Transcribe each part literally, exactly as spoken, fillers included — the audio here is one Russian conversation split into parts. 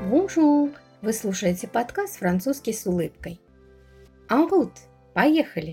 Bonjour! Вы слушаете подкаст «Французский с улыбкой». En route! Поехали!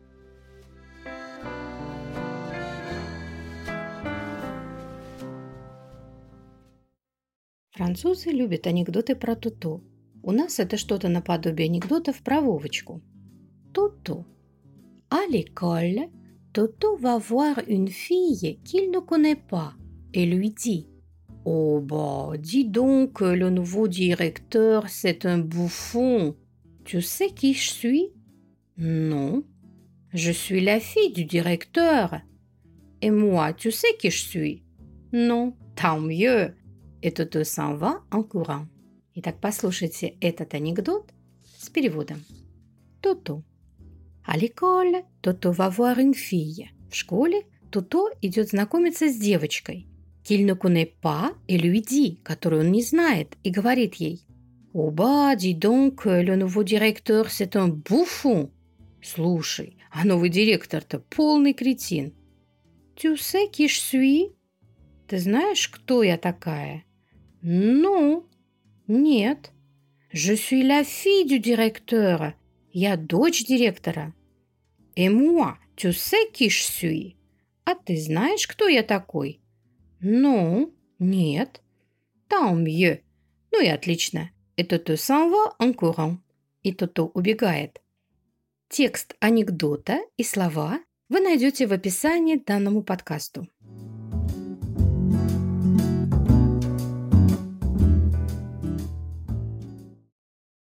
Французы любят анекдоты про Тото. У нас это что-то наподобие анекдотов про Вовочку. Тото. À l'école, Toto va voir une fille qu'il ne connaît pas et lui dit: Oh bah, dis donc, le nouveau directeur, c'est un bouffon. Tu sais qui je suis? Non. Je suis la fille du directeur. Et moi, tu sais qui je suis? Non. Tant mieux. Et Toto s'en va en courant. Итак, послушайте этот анекдот с переводом. Тото. À l'école, Toto va voir une fille. В школе Тото идет знакомиться с девочкой. Qu'il ne connaît pas et lui dit, которую он не знает, и говорит ей: Oh bah, dis donc, le nouveau directeur, c'est un bouffon. Слушай, а новый директор-то полный кретин. Tu sais qui je suis? Ты знаешь, кто я такая? Non. Нет. Je suis la fille du directeur. Я дочь директора. Et moi, tu sais qui je suis? А ты знаешь, кто я такой? Non. Нет. Tant mieux. Ну и отлично. Et Toto s'en va en courant. И Тото убегает. Текст анекдота и слова вы найдете в описании к данному подкасту.